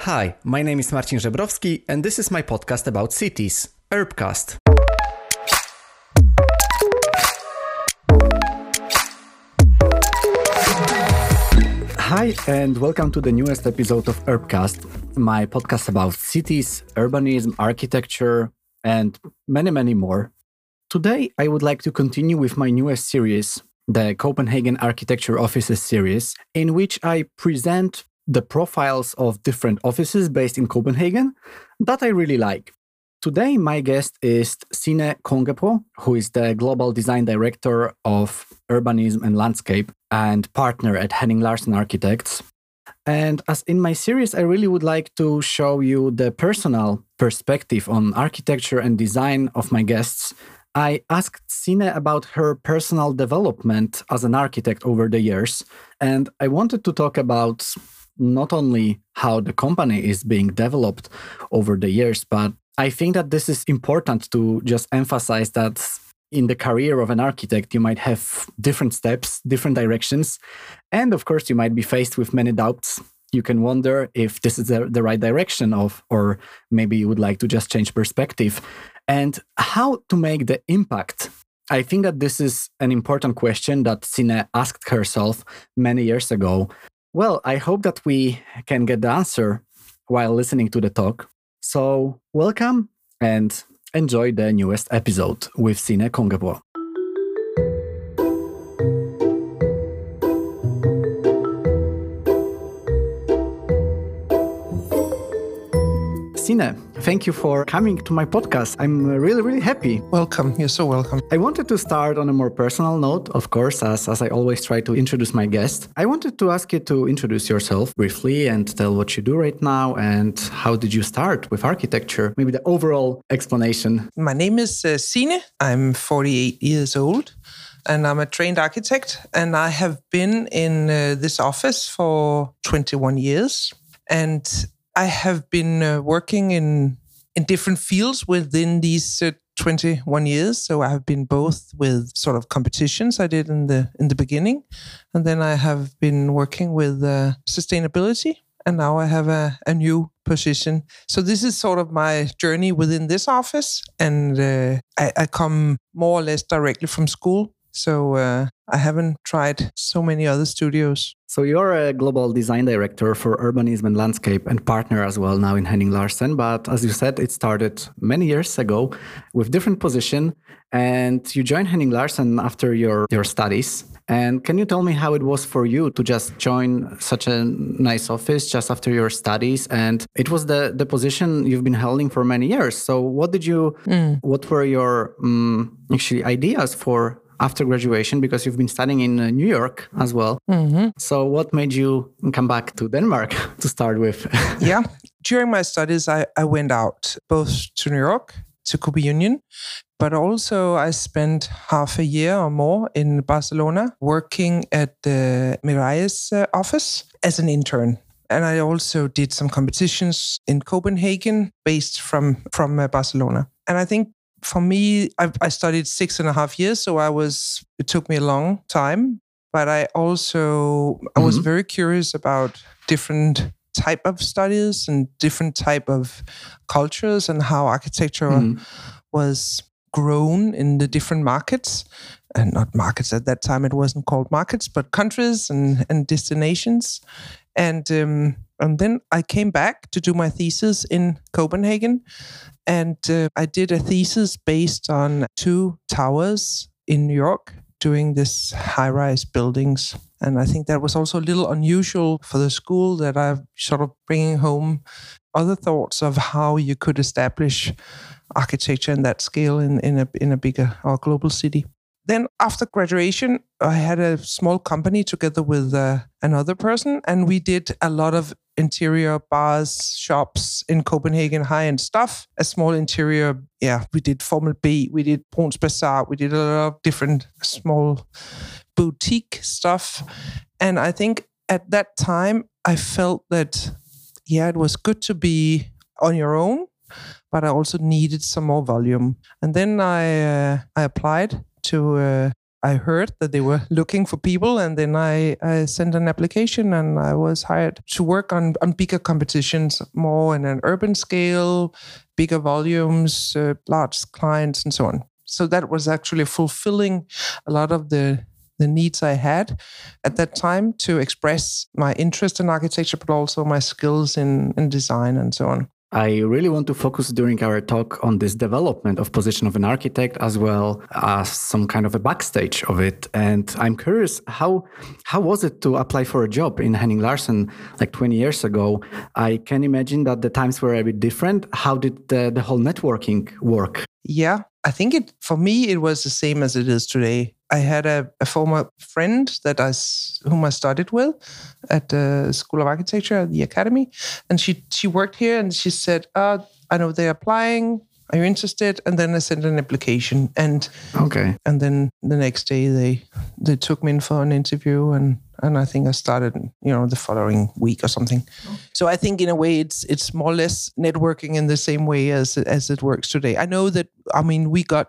Hi, my name is Marcin Żebrowski and this is my podcast about cities, Urbcast. Hi and welcome to the newest episode of Urbcast, my podcast about cities, urbanism, architecture, and many more. Today, I would like to continue with my newest series, the Copenhagen Architecture Offices series, in which I present the profiles of different offices based in Copenhagen that I really like. Today, my guest is Signe Kongepo, who is the Global Design Director of Urbanism and Landscape and partner at Henning Larsen Architects. And as in my series, I really would like to show you the personal perspective on architecture and design of my guests. I asked Signe about her personal development as an architect over the years, and I wanted to talk about not only how the company is being developed over the years, but I think that this is important to just emphasize that in the career of an architect, you might have different steps, different directions, and of course, you might be faced with many doubts. You can wonder if this is the right direction or maybe you would like to just change perspective. And how to make the impact. I think that this is an important question that Signe asked herself many years ago. Well, I hope that we can get the answer while listening to the talk. So welcome and enjoy the newest episode with Signe Kongepo. Signe, thank you for coming to my podcast. I'm really happy. Welcome. You're so welcome. I wanted to start on a more personal note, of course, as I always try to introduce my guest. I wanted to ask you to introduce yourself briefly and tell what you do right now and how did you start with architecture? Maybe the overall explanation. My name is Signe. I'm 48 years old and I'm a trained architect. And I have been in this office for 21 years. And I have been working in different fields within these 21 years. So I have been both with sort of competitions I did in the beginning, and then I have been working with sustainability, and now I have a new position. So this is sort of my journey within this office, and I come more or less directly from school. So I haven't tried so many other studios. So you're a global design director for urbanism and landscape and partner as well now in Henning Larsen. But as you said, it started many years ago with different position. And you joined Henning Larsen after your studies. And can you tell me how it was for you to just join such a nice office just after your studies? And it was the position you've been holding for many years. So what were your actually ideas for after graduation, because you've been studying in New York as well. Mm-hmm. So what made you come back to Denmark to start with? Yeah. During my studies, I went out both to New York, to Cooper Union, but also I spent half a year or more in Barcelona working at the Miralles office as an intern. And I also did some competitions in Copenhagen based from Barcelona. And I think for me, I studied 6.5 years, so it took me a long time. But I was very curious about different type of studies and different type of cultures and how architecture was grown in the different markets. And not markets at that time, it wasn't called markets, but countries and destinations. And then I came back to do my thesis in Copenhagen. And I did a thesis based on 2 towers in New York doing this high-rise buildings. And I think that was also a little unusual for the school, that I'm sort of bringing home other thoughts of how you could establish architecture in that scale in a bigger or global city. Then after graduation, I had a small company together with another person, and we did a lot of interior bars, shops in Copenhagen, high-end stuff. A small interior, we did Formel B, we did Bruns Bazaar, we did a lot of different small boutique stuff. And I think at that time, I felt that, it was good to be on your own, but I also needed some more volume. And then I applied to I heard that they were looking for people, and then I sent an application, and I was hired to work on bigger competitions, more in an urban scale, bigger volumes, large clients, and so on. So that was actually fulfilling a lot of the needs I had at that time to express my interest in architecture, but also my skills in design and so on. I really want to focus during our talk on this development of position of an architect, as well as some kind of a backstage of it. And I'm curious, how was it to apply for a job in Henning Larsen like 20 years ago? I can imagine that the times were a bit different. How did the whole networking work? Yeah, I think for me, it was the same as it is today. I had a former friend whom I studied with at the School of Architecture at the Academy. And she worked here, and she said, I know they're applying. Are you interested? And then I sent an application. And then the next day they took me in for an interview, and I think I started, the following week or something. So I think in a way it's more or less networking in the same way as it works today. I know that, we got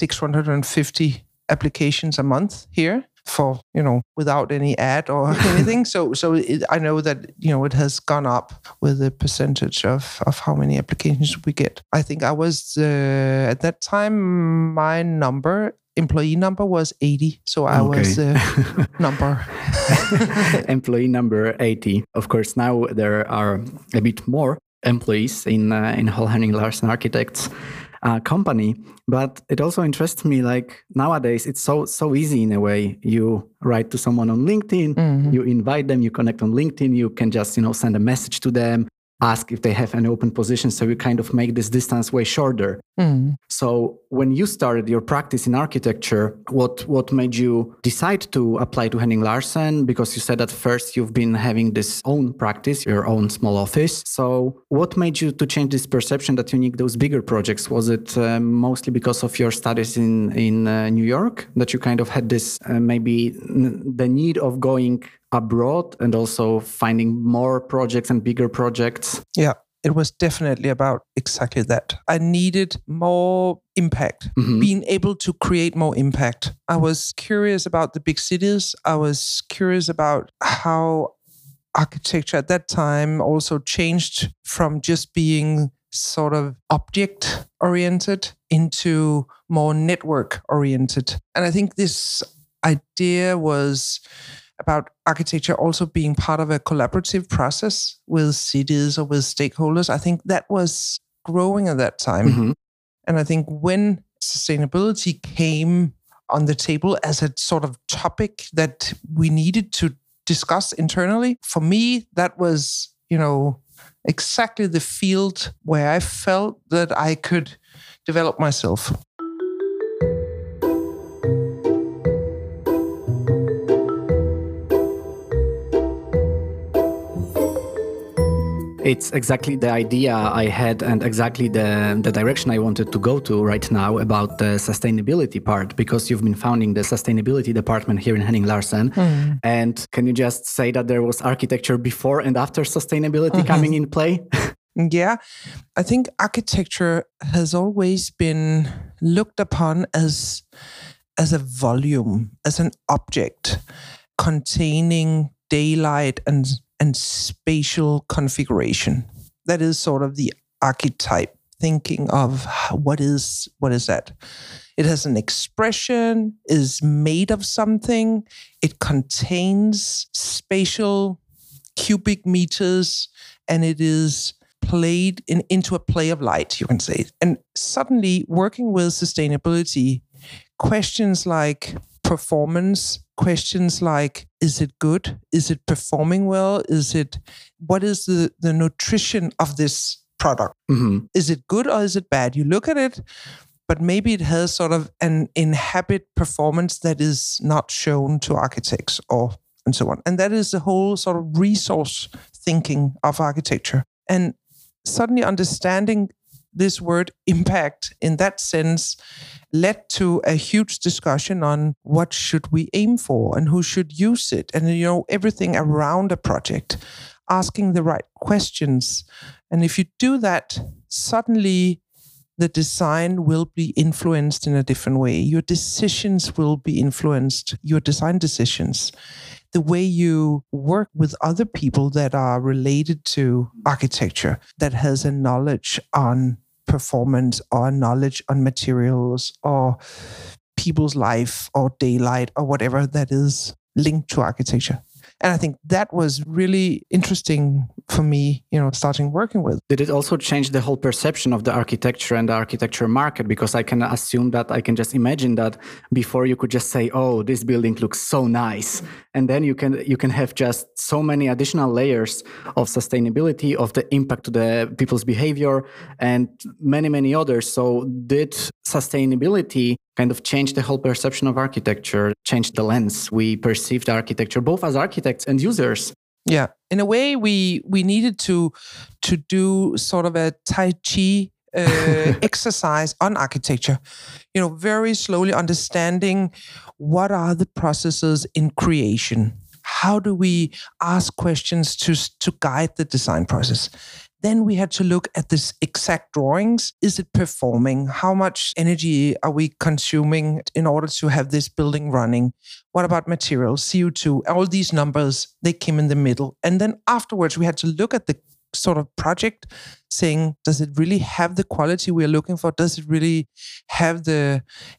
650 applications a month here for, without any ad or anything. I know that, it has gone up with the percentage of how many applications we get. I think I was, at that time, my employee number was 80. So I was number. Employee number 80. Of course, now there are a bit more employees in whole Henning Larsen Architects company, but it also interests me, like nowadays it's so easy in a way. You write to someone on LinkedIn, you invite them, you connect on LinkedIn, you can just send a message to them, ask if they have any open positions, so you kind of make this distance way shorter. So when you started your practice in architecture, what made you decide to apply to Henning Larsen? Because you said at first you've been having this own practice, your own small office. So what made you to change this perception that you need those bigger projects? Was it mostly because of your studies in New York, that you kind of had this maybe the need of going abroad and also finding more projects and bigger projects? Yeah, it was definitely about exactly that. I needed more impact, being able to create more impact. I was curious about the big cities. I was curious about how architecture at that time also changed from just being sort of object oriented into more network oriented. And I think this idea was about architecture also being part of a collaborative process with cities or with stakeholders. I think that was growing at that time. And I think when sustainability came on the table as a sort of topic that we needed to discuss internally, for me, that was, exactly the field where I felt that I could develop myself. It's exactly the idea I had and exactly the direction I wanted to go to right now about the sustainability part, because you've been founding the sustainability department here in Henning Larsen. And can you just say that there was architecture before and after sustainability coming in play? Yeah, I think architecture has always been looked upon as a volume, as an object containing daylight and spatial configuration. That is sort of the archetype thinking of what is that. It has an expression, is made of something, it contains spatial cubic meters, and it is played into a play of light, you can say. And suddenly working with sustainability, questions like performance, questions like, is it good? Is it performing well? What is the nutrition of this product? Is it good or is it bad? You look at it, but maybe it has sort of an inhabit performance that is not shown to architects and so on. And that is the whole sort of resource thinking of architecture. And suddenly understanding this word impact in that sense led to a huge discussion on what should we aim for and who should use it. And, everything around a project, asking the right questions. And if you do that, suddenly the design will be influenced in a different way. Your decisions will be influenced, your design decisions. The way you work with other people that are related to architecture, that has a knowledge on performance or knowledge on materials or people's life or daylight or whatever that is linked to architecture. And I think that was really interesting for me, starting working with. Did it also change the whole perception of the architecture and the architecture market? Because I can assume that I can just imagine that before you could just say, oh, this building looks so nice. And then you can have just so many additional layers of sustainability, of the impact to the people's behavior and many, many others. So did sustainability kind of change the whole perception of architecture, change the lens we perceived architecture, both as architects and users? Yeah, in a way, we needed to do sort of a Tai Chi exercise on architecture. Very slowly understanding what are the processes in creation. How do we ask questions to guide the design process? Then we had to look at this exact drawings. Is it performing? How much energy are we consuming in order to have this building running? What about materials, CO2? All these numbers, they came in the middle. And then afterwards, we had to look at the sort of project saying, does it really have the quality we are looking for? Does it really have the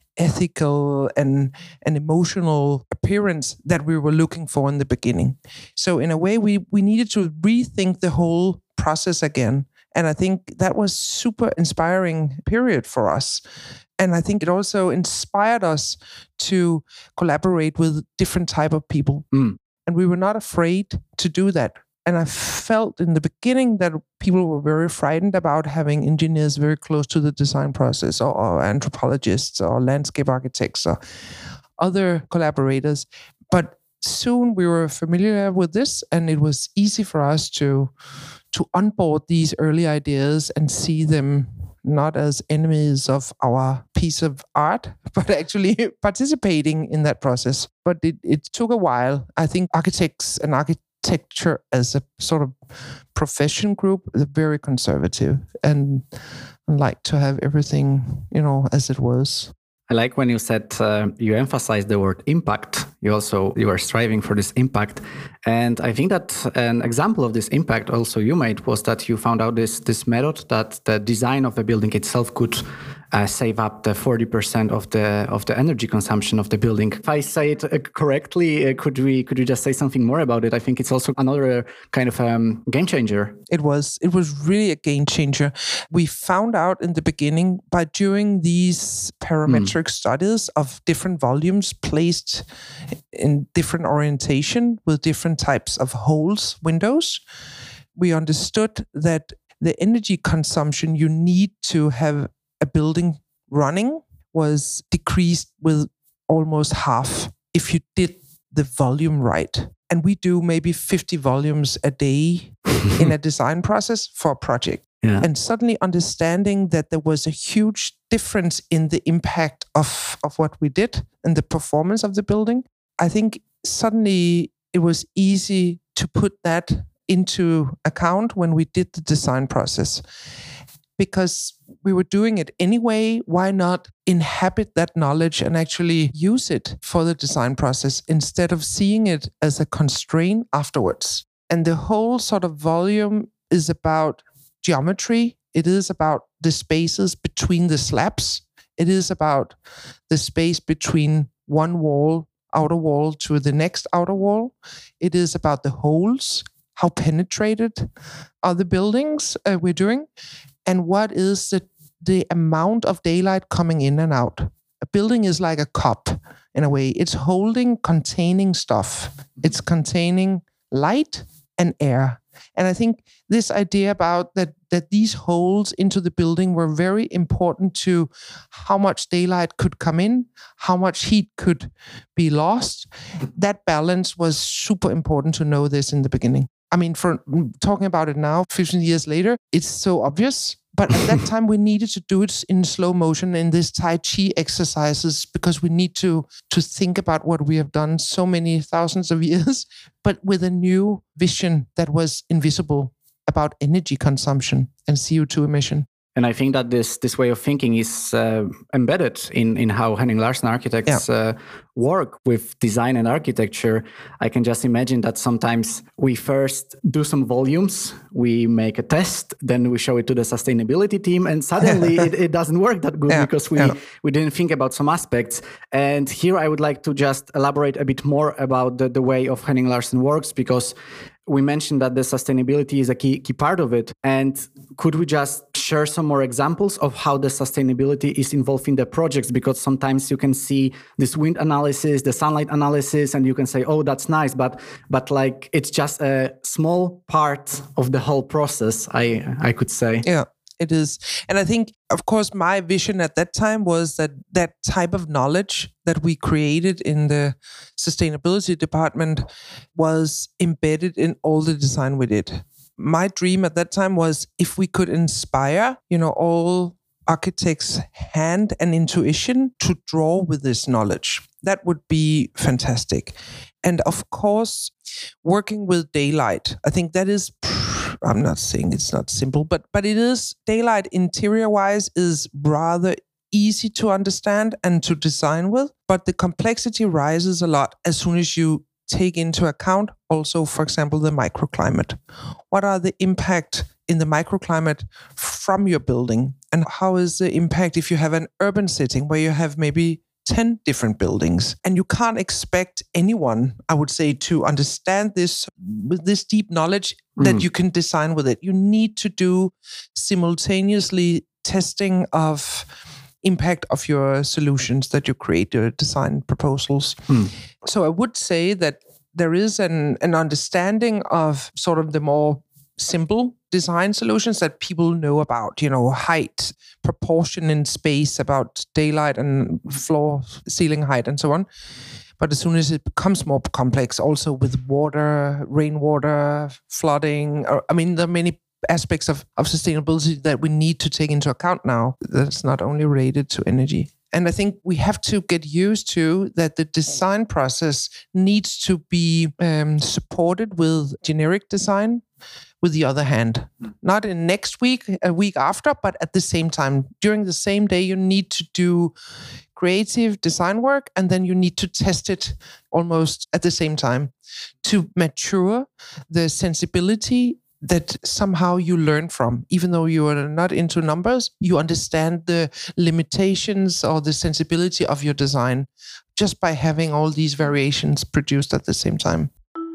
ethical and emotional appearance that we were looking for in the beginning? So in a way, we needed to rethink the whole process again. And I think that was super inspiring period for us. And I think it also inspired us to collaborate with different type of people. And we were not afraid to do that. And I felt in the beginning that people were very frightened about having engineers very close to the design process, or anthropologists or landscape architects or other collaborators. But soon we were familiar with this, and it was easy for us to onboard these early ideas and see them not as enemies of our piece of art, but actually participating in that process. But it took a while. I think architects and architecture as a sort of profession group is very conservative and like to have everything, as it was. I like when you said you emphasized the word impact. You were striving for this impact. And I think that an example of this impact also you made was that you found out this method that the design of a building itself could save up the 40% of the energy consumption of the building. If I say it correctly, could you just say something more about it? I think it's also another kind of game changer. It was really a game changer. We found out in the beginning by doing these parametric studies of different volumes placed in different orientation with different types of holes, windows. We understood that the energy consumption you need to have a building running was decreased with almost half if you did the volume right. And we do maybe 50 volumes a day in a design process for a project. Yeah. And suddenly understanding that there was a huge difference in the impact of what we did and the performance of the building, I think suddenly it was easy to put that into account when we did the design process. Because we were doing it anyway, why not inhabit that knowledge and actually use it for the design process instead of seeing it as a constraint afterwards? And the whole sort of volume is about geometry. It is about the spaces between the slabs. It is about the space between one wall, outer wall, to the next outer wall. It is about the holes, how penetrated are the buildings we're doing. And what is the amount of daylight coming in and out? A building is like a cup in a way. It's containing stuff. It's containing light and air. And I think this idea about that these holes into the building were very important to how much daylight could come in, how much heat could be lost. That balance was super important to know this in the beginning. I mean, for talking about it now, 15 years later, it's so obvious. But at that time, we needed to do it in slow motion in this Tai Chi exercises because we need to think about what we have done so many thousands of years, but with a new vision that was invisible about energy consumption and CO2 emission. And I think that this way of thinking is embedded in how Henning Larsen architects work with design and architecture. I can just imagine that sometimes we first do some volumes, we make a test, then we show it to the sustainability team, and suddenly it doesn't work that good because we didn't think about some aspects. And here I would like to just elaborate a bit more about the way of Henning Larsen works, because we mentioned that the sustainability is a key part of it. And could we just share some more examples of how the sustainability is involved in the projects? Because sometimes you can see this wind analysis, the sunlight analysis, and you can say, oh, that's nice, but like it's just a small part of the whole process, I could say. Yeah. It is. And I think, of course, my vision at that time was that type of knowledge that we created in the sustainability department was embedded in all the design we did. My dream at that time was if we could inspire, all architects' hand and intuition to draw with this knowledge. That would be fantastic. And of course, working with daylight, I think that is I'm not saying it's not simple, but it is. Daylight interior-wise is rather easy to understand and to design with, but the complexity rises a lot as soon as you take into account also, for example, the microclimate. What are the impact in the microclimate from your building? And how is the impact if you have an urban setting where you have maybe 10 different buildings? And you can't expect anyone, I would say, to understand this with this deep knowledge that you can design with it. You need to do simultaneously testing of impact of your solutions that you create, your design proposals. So I would say that there is an understanding of sort of the more simple design solutions that people know about, height, proportion in space, about daylight and floor, ceiling height, and so on. But as soon as it becomes more complex, also with water, rainwater, flooding, there are many aspects of sustainability that we need to take into account now. That's not only related to energy. And I think we have to get used to that the design process needs to be supported with generic design. With the other hand, not in next week, a week after, but at the same time, during the same day, you need to do creative design work, and then you need to test it almost at the same time to mature the sensibility that somehow you learn from. Even though you are not into numbers, you understand the limitations or the sensibility of your design just by having all these variations produced at the same time.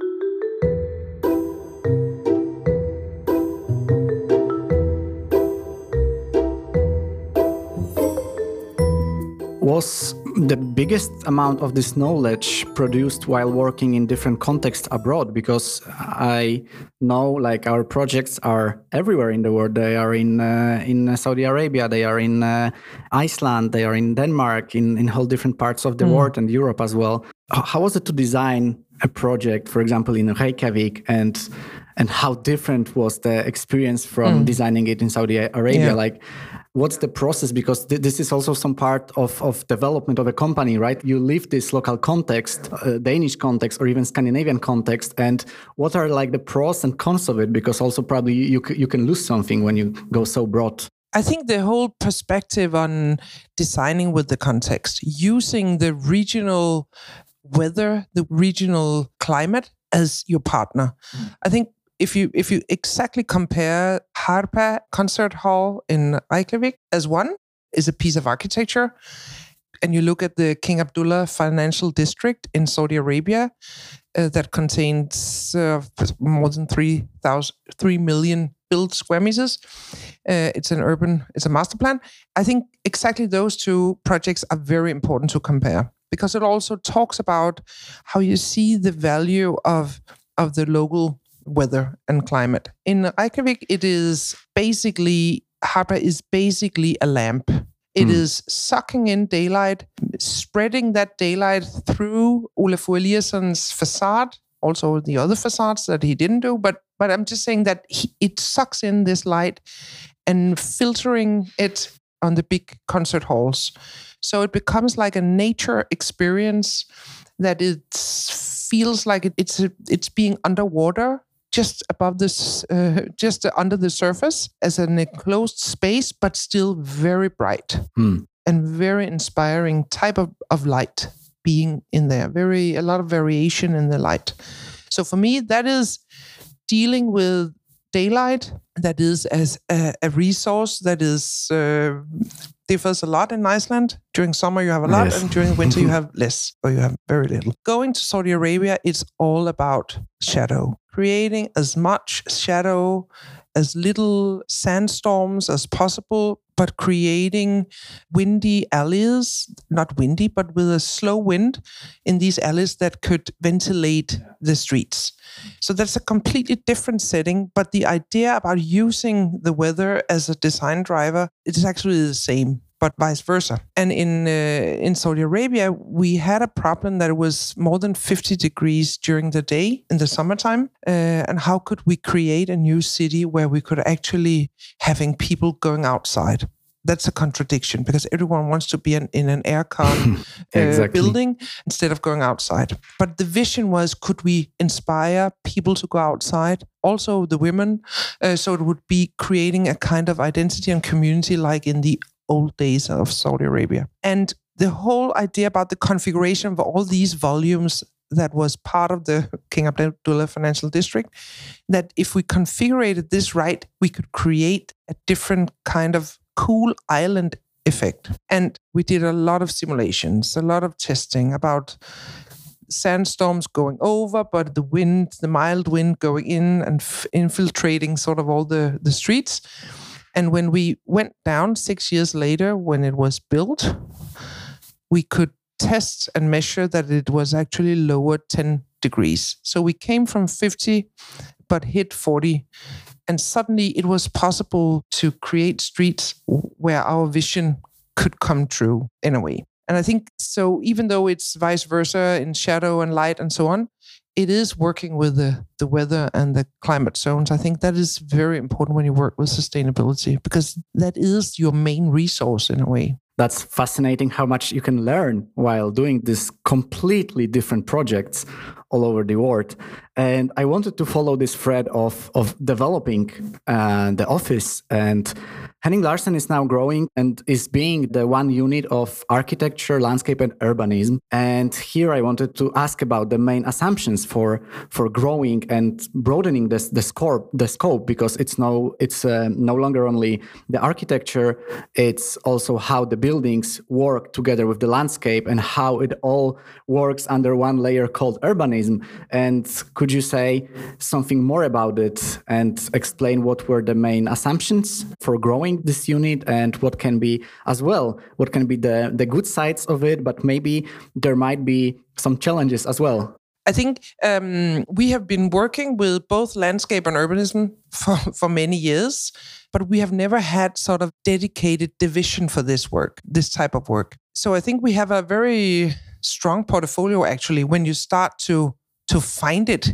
Was the biggest amount of this knowledge produced while working in different contexts abroad? Because I know our projects are everywhere in the world. They are in Saudi Arabia, they are in Iceland, they are in Denmark, in whole different parts of the world and Europe as well. How was it to design a project, for example, in Reykjavik, and how different was the experience from designing it in Saudi Arabia? What's the process? Because this is also some part of development of a company, right? You leave this local context, Danish context, or even Scandinavian context. And what are the pros and cons of it? Because also probably you can lose something when you go so broad. I think the whole perspective on designing with the context, using the regional weather, the regional climate as your partner. I think if you exactly compare Harpa Concert Hall in Reykjavik as one is a piece of architecture, and you look at the King Abdullah Financial District in Saudi Arabia that contains more than 3 million built square meters. It's a master plan. I think exactly those two projects are very important to compare because it also talks about how you see the value of the local weather and climate. In Reykjavik, Harpa is basically a lamp. It is sucking in daylight, spreading that daylight through Olafur Eliasson's facade, also the other facades that he didn't do. But I'm just saying that it sucks in this light and filtering it on the big concert halls. So it becomes like a nature experience that it feels like it's being underwater just above this, just under the surface as an enclosed space, but still very bright and very inspiring type of light being in there. A lot of variation in the light. So for me, that is dealing with daylight, that is as a resource that is differs a lot in Iceland. During summer you have a lot, yes. And during winter you have less, or you have very little. Going to Saudi Arabia, it's all about shadow. Creating as much shadow, as little sandstorms as possible, but creating windy alleys, not windy, but with a slow wind in these alleys that could ventilate the streets. So that's a completely different setting, but the idea about using the weather as a design driver, it is actually the same, but vice versa. And in Saudi Arabia, we had a problem that it was more than 50 degrees during the day in the summertime. And how could we create a new city where we could actually having people going outside? That's a contradiction, because everyone wants to be in an aircon exactly. Building instead of going outside. But the vision was, could we inspire people to go outside? Also the women. So it would be creating a kind of identity and community like in the old days of Saudi Arabia. And the whole idea about the configuration of all these volumes that was part of the King Abdullah Financial District, that if we configured this right, we could create a different kind of cool island effect. And we did a lot of simulations, a lot of testing about sandstorms going over, but the mild wind going in and infiltrating sort of all the streets. And when we went down 6 years later, when it was built, we could test and measure that it was actually lowered 10 degrees. So we came from 50, but hit 40. And suddenly it was possible to create streets where our vision could come true in a way. And I think so, even though it's vice versa in shadow and light and so on, it is working with the weather and the climate zones. I think that is very important when you work with sustainability, because that is your main resource in a way. That's fascinating how much you can learn while doing these completely different projects all over the world. And I wanted to follow this thread of developing the office. And Henning Larsen is now growing and is being the one unit of architecture, landscape, and urbanism. And here I wanted to ask about the main assumptions for growing and broadening the scope, because it's no longer only the architecture, it's also how the buildings work together with the landscape and how it all works under one layer called urbanism. And could you say something more about it and explain what were the main assumptions for growing this unit, and what can be the good sides of it, but maybe there might be some challenges as well? I think we have been working with both landscape and urbanism for many years, but we have never had sort of dedicated division for this type of work. So I think we have a very strong portfolio actually when you start to find it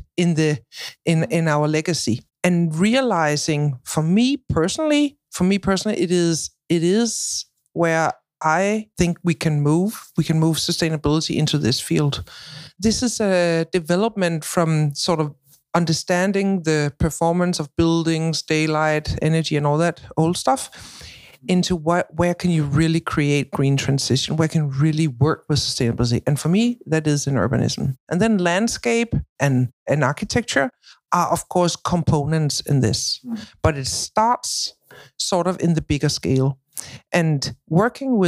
in our legacy, and realizing for me personally, it is where I think we can move sustainability into this field. This is a development from sort of understanding the performance of buildings, daylight, energy, and all that old stuff, into where can you really create green transition, where can you really work with sustainability. And for me, that is in urbanism. And then landscape and architecture are, of course, components in this. But it starts sort of in the bigger scale. And working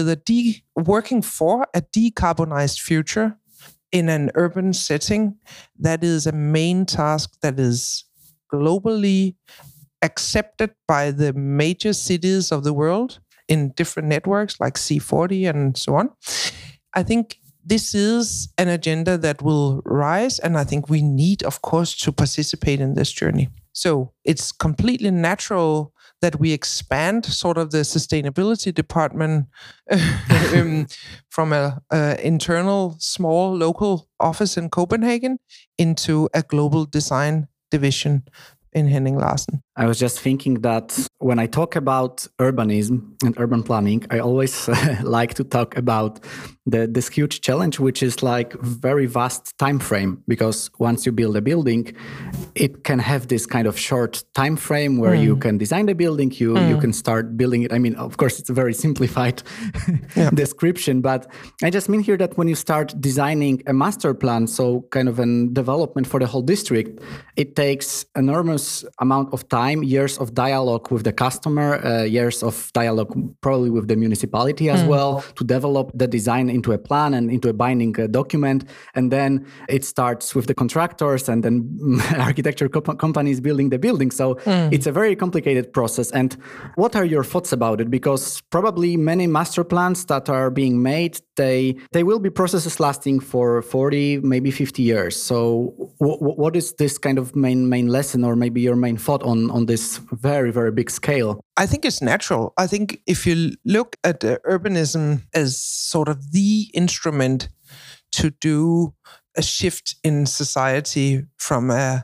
for a decarbonized future in an urban setting, that is a main task that is globally accepted by the major cities of the world in different networks like C40 and so on. I think this is an agenda that will rise, and I think we need, of course, to participate in this journey. So it's completely natural that we expand sort of the sustainability department from an internal small local office in Copenhagen into a global design division in Henning Larsen. I was just thinking that when I talk about urbanism and urban planning, I always like to talk about this huge challenge, which is like very vast time frame. Because once you build a building, it can have this kind of short time frame where you can design the building, you can start building it. I mean, of course, it's a very simplified description, but I just mean here that when you start designing a master plan, so kind of a development for the whole district, it takes enormous amount of time, years of dialogue with the customer, years of dialogue probably with the municipality as well, to develop the design into a plan and into a binding document. And then it starts with the contractors and then architecture companies building the building. So it's a very complicated process. And what are your thoughts about it? Because probably many master plans that are being made, they will be processes lasting for 40, maybe 50 years. So what is this kind of main lesson, or maybe your main thought on this very, very big scale? I think it's natural. I think if you look at urbanism as sort of the instrument to do a shift in society from a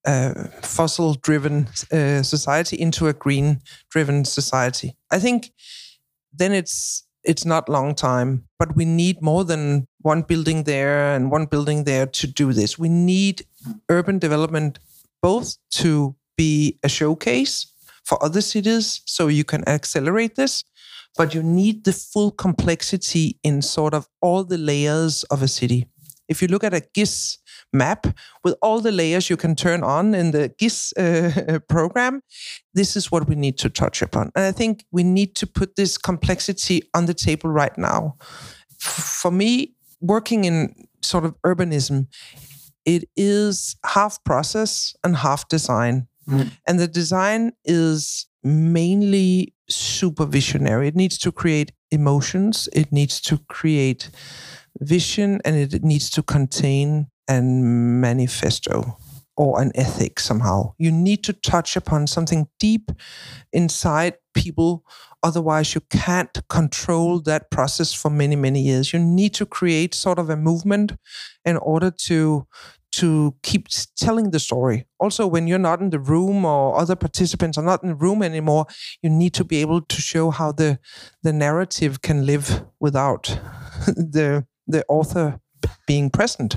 fossil-driven society into a green-driven society, I think then it's not long time, but we need more than one building there and one building there to do this. We need urban development both to be a showcase for other cities so you can accelerate this, but you need the full complexity in sort of all the layers of a city. If you look at a GIS map with all the layers you can turn on in the GIS program, this is what we need to touch upon. And I think we need to put this complexity on the table right now. For me, working in sort of urbanism, it is half process and half design. And the design is mainly supervisionary. It needs to create emotions, it needs to create vision, and it needs to contain a manifesto or an ethic somehow. You need to touch upon something deep inside people. Otherwise, you can't control that process for many, many years. You need to create sort of a movement in order to keep telling the story. Also, when you're not in the room or other participants are not in the room anymore, you need to be able to show how the narrative can live without the author being present.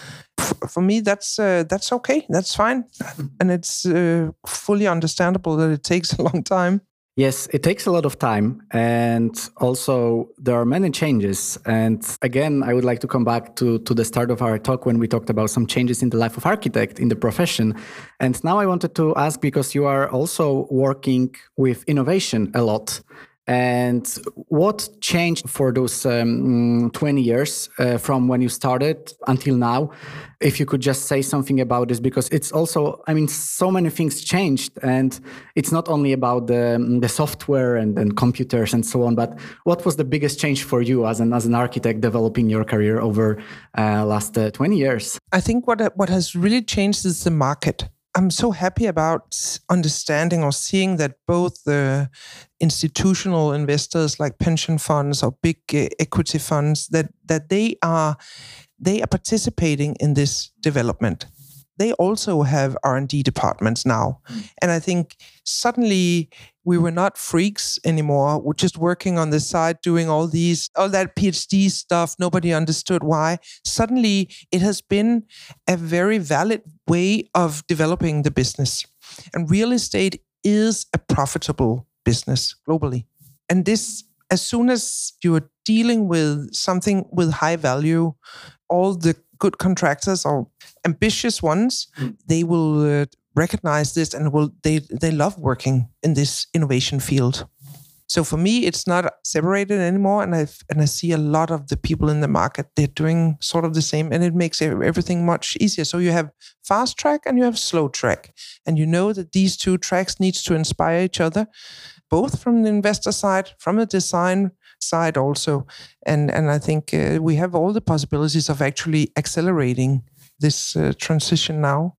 For me, that's okay. That's fine. And it's fully understandable that it takes a long time. Yes, it takes a lot of time, and also there are many changes. And again, I would like to come back to the start of our talk when we talked about some changes in the life of architect in the profession. And now I wanted to ask, because you are also working with innovation a lot, and what changed for those 20 years from when you started until now? If you could just say something about this, because it's also, I mean, so many things changed, and it's not only about the software and computers and so on, but what was the biggest change for you as an architect developing your career over last 20 years? I think what has really changed is the market. I'm so happy about understanding or seeing that both the institutional investors like pension funds or big equity funds, that they are participating in this development. They also have R&D departments now. And I think suddenly we were not freaks anymore. We're just working on the side, doing all that PhD stuff. Nobody understood why. Suddenly it has been a very valid way of developing the business. And real estate is a profitable business globally. And this, as soon as you're dealing with something with high value, all the good contractors or ambitious ones, they will recognize this and they love working in this innovation field. So for me, it's not separated anymore, and I see a lot of the people in the market, they're doing sort of the same, and it makes everything much easier. So you have fast track and you have slow track, and you know that these two tracks needs to inspire each other, both from the investor side, from the design side also. And I think we have all the possibilities of actually accelerating this transition now.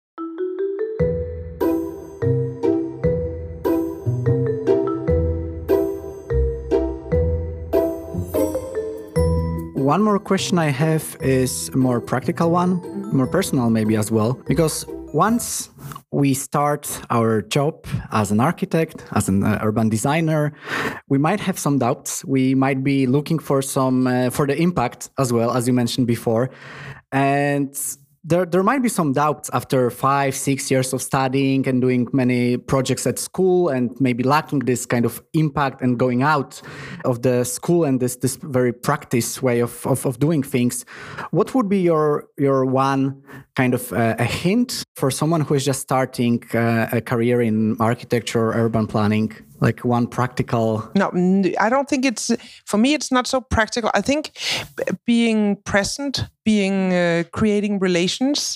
One more question I have is a more practical one, more personal maybe as well, because once we start our job as an architect, as an urban designer, we might have some doubts. We might be looking for for the impact as well, as you mentioned before. And there might be some doubts after 5-6 years of studying and doing many projects at school and maybe lacking this kind of impact and going out of the school and this very practice way of doing things. What would be your one kind of a hint for someone who is just starting a career in architecture or urban planning? Like one practical... No, I don't think for me, it's not so practical. I think being present, creating relations,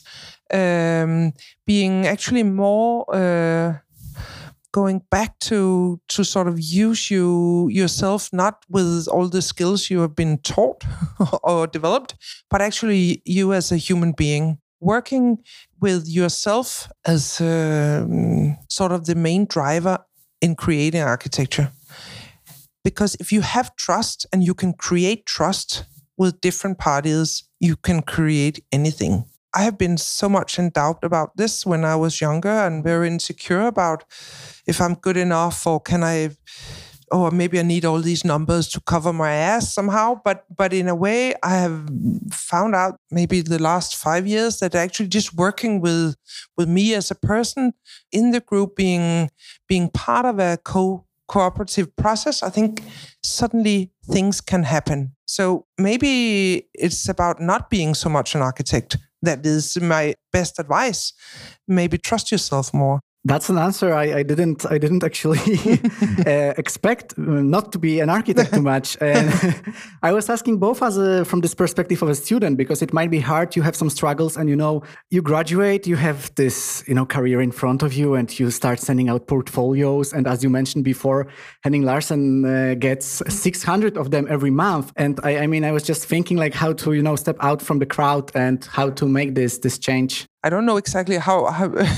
being actually more going back to sort of use yourself, not with all the skills you have been taught or developed, but actually you as a human being. Working with yourself as sort of the main driver in creating architecture. Because if you have trust and you can create trust with different parties, you can create anything. I have been so much in doubt about this when I was younger and very insecure about if I'm good enough or maybe I need all these numbers to cover my ass somehow. But in a way, I have found out maybe the last 5 years that actually just working with me as a person in the group, being part of a cooperative process, I think suddenly things can happen. So maybe it's about not being so much an architect. That is my best advice. Maybe trust yourself more. That's an answer I didn't actually expect not to be an architect too much. And I was asking both from this perspective of a student, because it might be hard. You have some struggles and, you graduate, you have this, career in front of you and you start sending out portfolios. And as you mentioned before, Henning Larsen gets 600 of them every month. And I was just thinking like how to, step out from the crowd and how to make this change. I don't know exactly how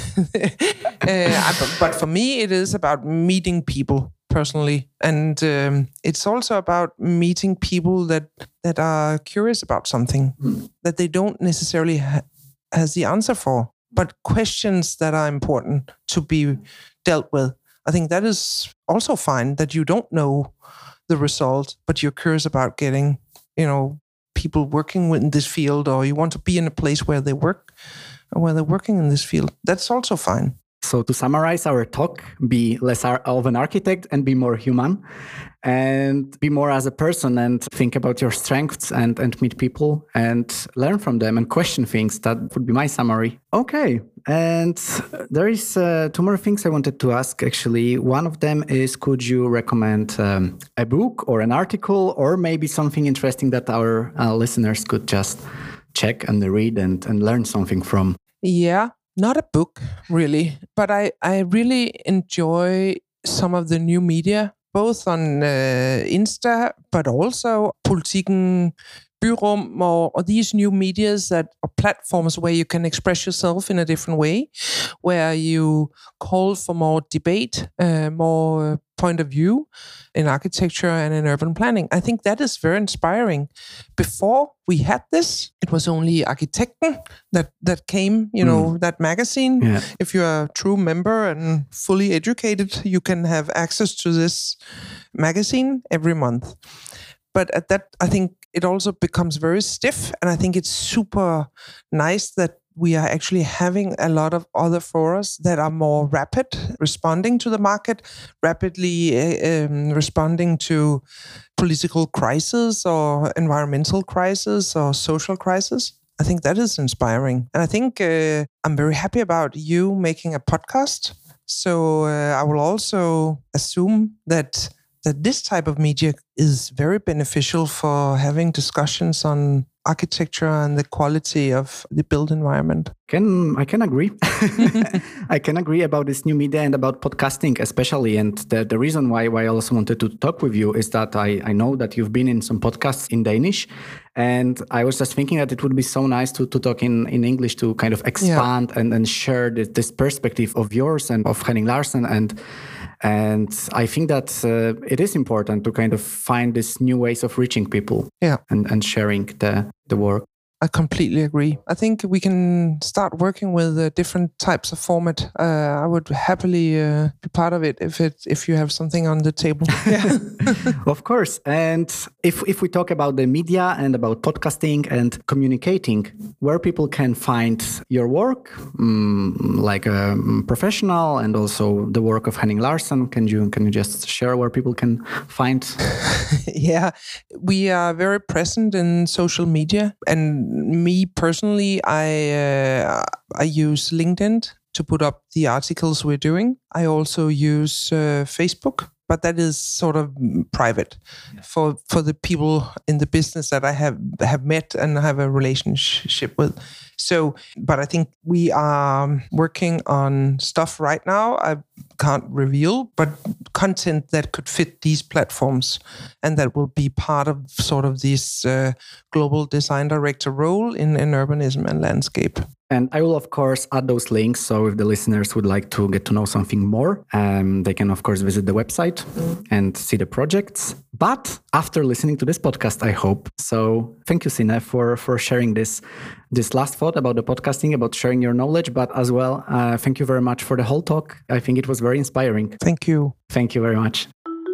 but for me, it is about meeting people personally. And it's also about meeting people that are curious about something that they don't necessarily has the answer for, but questions that are important to be dealt with. I think that is also fine, that you don't know the result, but you're curious about getting, people working in this field, or you want to be in a place where they work, when they're working in this field. That's also fine. So to summarize our talk, be less of an architect and be more human, and be more as a person and think about your strengths and meet people and learn from them and question things. That would be my summary. Okay. And there is 2 more things I wanted to ask, actually. One of them is, could you recommend a book or an article or maybe something interesting that our listeners could just check and read and learn something from? Yeah, not a book really, but I really enjoy some of the new media, both on Insta, but also Politiken, Byrum, or these new medias or platforms where you can express yourself in a different way, where you call for more debate, more point of view in architecture and in urban planning. I think that is very inspiring. Before we had this, it was only Arkitekten that came, that magazine. Yeah. If you're a true member and fully educated, you can have access to this magazine every month. But at that, I think it also becomes very stiff. And I think it's super nice that we are actually having a lot of other forums that are more rapid, responding to the market, rapidly responding to political crisis or environmental crisis or social crisis. I think that is inspiring. And I think I'm very happy about you making a podcast. So I will also assume that this type of media is very beneficial for having discussions on architecture and the quality of the built environment. I can agree. I can agree about this new media and about podcasting especially. And the reason why I also wanted to talk with you is that I know that you've been in some podcasts in Danish. And I was just thinking that it would be so nice to talk in English, to kind of expand and share this perspective of yours and of Henning Larsen. And I think that it is important to kind of find these new ways of reaching people and sharing the work. I completely agree. I think we can start working with different types of format. I would happily be part of it if you have something on the table. Yeah. Of course. And if we talk about the media and about podcasting and communicating, where people can find your work, like a professional, and also the work of Henning Larsson, can you just share where people can find? Yeah, we are very present in social media, and me personally, I use LinkedIn to put up the articles we're doing. I also use Facebook, but that is sort of private for the people in the business that I have met and have a relationship with. So, but I think we are working on stuff right now I can't reveal, but content that could fit these platforms and that will be part of sort of this global design director role in urbanism and landscape. And I will, of course, add those links. So if the listeners would like to get to know something more, they can, of course, visit the website and see the projects. But after listening to this podcast, I hope. So thank you, Sine, for sharing this last thought about the podcasting, about sharing your knowledge, but as well, thank you very much for the whole talk. I think it was very inspiring. Thank you. Thank you very much.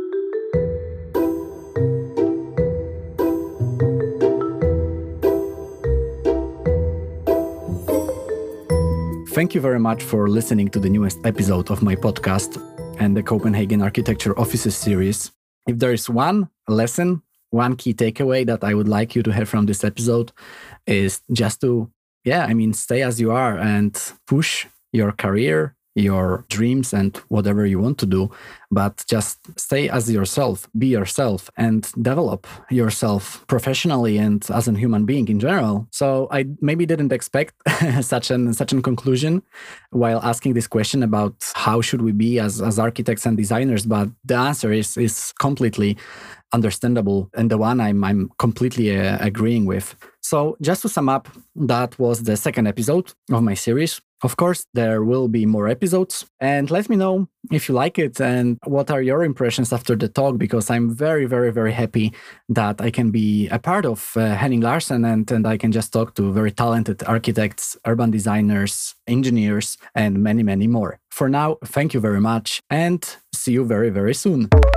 Thank you very much for listening to the newest episode of my podcast and the Copenhagen Architecture Offices series. If there is one lesson, one key takeaway that I would like you to have from this episode is just to, stay as you are and push your career, your dreams and whatever you want to do, but just stay as yourself, be yourself and develop yourself professionally and as a human being in general. So I maybe didn't expect such an conclusion while asking this question about how should we be as architects and designers, but the answer is completely understandable and the one I'm completely agreeing with. So just to sum up, that was the second episode of my series. Of course, there will be more episodes, and let me know if you like it and what are your impressions after the talk, because I'm very, very, very happy that I can be a part of Henning Larsson and I can just talk to very talented architects, urban designers, engineers, and many, many more. For now, thank you very much and see you very, very soon.